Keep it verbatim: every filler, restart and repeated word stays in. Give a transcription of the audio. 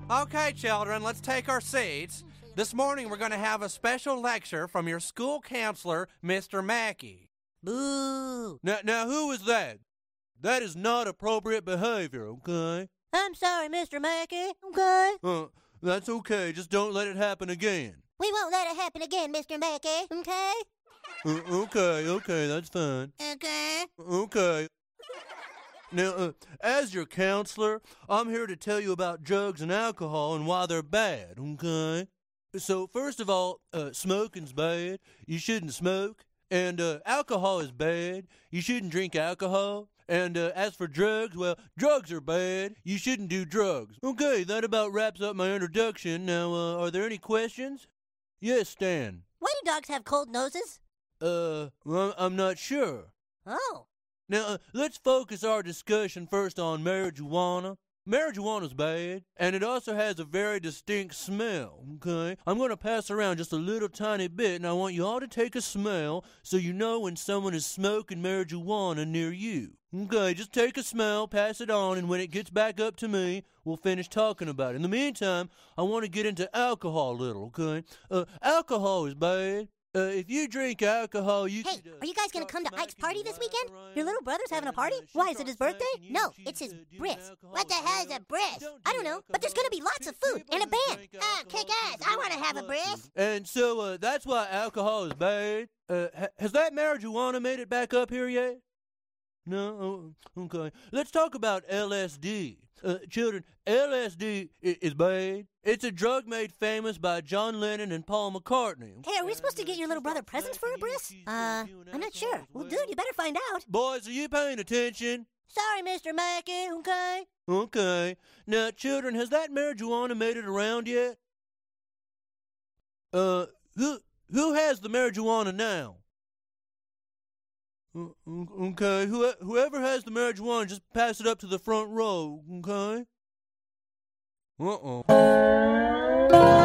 Okay, children, let's take our seats. This morning we're going to have a special lecture from your school counselor, Mister Mackey. Boo! Now, now, who is that? That is not appropriate behavior, okay? I'm sorry, Mister Mackey, okay? Uh, that's okay. Just don't let it happen again. We won't let it happen again, Mister Mackey, okay? Uh, okay, okay, that's fine. Okay. Okay. Now, uh, as your counselor, I'm here to tell you about drugs and alcohol and why they're bad, okay? So, first of all, uh, smoking's bad. You shouldn't smoke. And uh, alcohol is bad. You shouldn't drink alcohol. And uh, as for drugs, well, drugs are bad. You shouldn't do drugs. Okay, that about wraps up my introduction. Now, uh, are there any questions? Yes, Stan. Why do dogs have cold noses? Uh, well, I'm not sure. Oh. Now, uh, let's focus our discussion first on marijuana. Marijuana's bad, and it also has a very distinct smell, okay? I'm going to pass around just a little tiny bit, and I want you all to take a smell so you know when someone is smoking marijuana near you. Okay, just take a smell, pass it on, and when it gets back up to me, we'll finish talking about it. In the meantime, I want to get into alcohol a little, okay? Uh, alcohol is bad. Uh, if you drink alcohol, you Hey, could, uh, are you guys going to come to start Ike's party this smacking weekend? your wife Your little brother's having a around, party? and, uh, she Why, is it his starts birthday? smacking you, No, she it's his could do bris. alcohol What the hell is a around. bris? Don't I do don't know, but there's going to be alcohol. lots of food People and a who band. drink Ah, alcohol kick ass. tend I want to get have a blood bris. sugar. And so uh, that's why alcohol is bad. Uh, ha- has that marijuana made it back up here yet? No? Oh, okay. Let's talk about L S D. Uh, children, L S D I- is bad. It's a drug made famous by John Lennon and Paul McCartney. Hey, are we supposed to get your little brother presents for a bris? Uh, I'm not sure. Well, dude, you better find out. Boys, are you paying attention? Sorry, Mister Mackey, okay? Okay. Now, children, has that marijuana made it around yet? Uh, who who has the marijuana now? Uh, Okay, who, whoever has the marijuana, just pass it up to the front row, okay? Uh-oh.